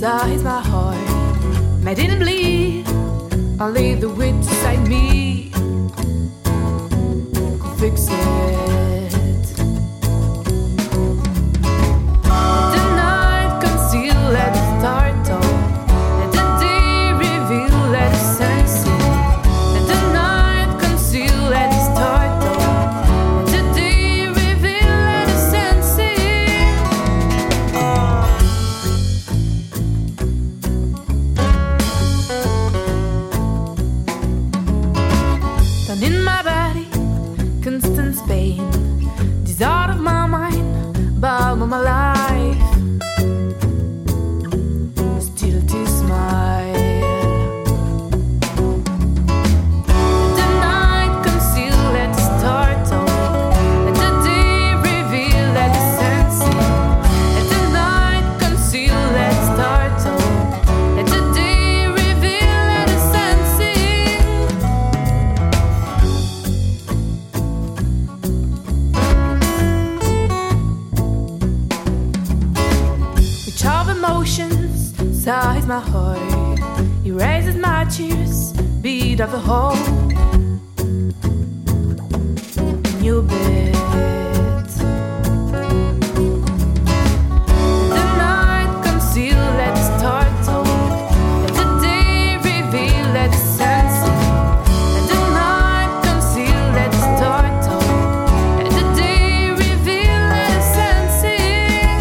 size my heart. I didn't bleed, only the wit inside me could fix it. Let the night conceal, let the start talk. Let the day reveal, let the sense it. Let the night conceal, let the start talk. Let the day reveal, let the sense it. Down in my body, constant pain. This out of my mind, about my life. Still to smile. Let the night conceal, let the start talk. Let the day reveal, let the sense it. Let the night conceal, let the start talk. Let the day reveal, let the sense it. Which of emotions size my heart, erases my tears, beat of the hole in your bed. Let the night conceal, let the start talk. Let the day reveal, let the sense it. Let the night conceal, let the start talk. Let the day reveal, let the sense it.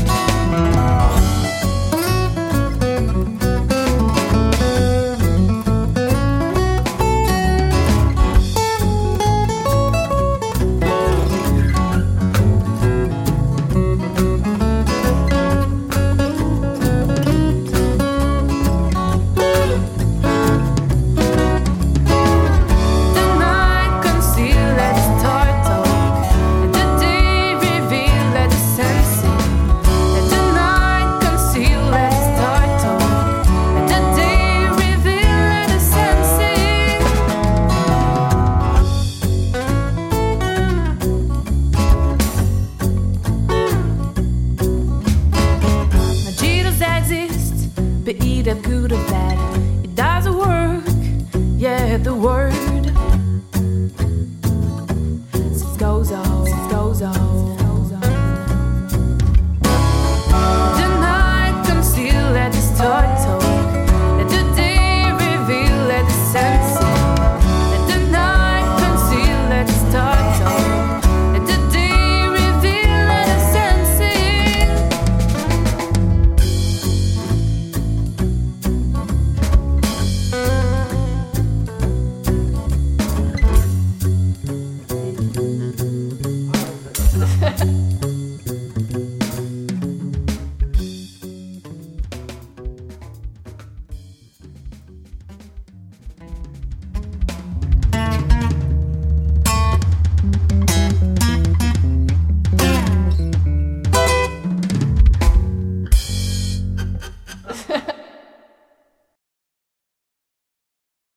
The night conceal, let the start talk. Let the day reveal, let the sense it. Let the night conceal, let the start talk. Let the day reveal, let the sense it. My jitters exist, but either good or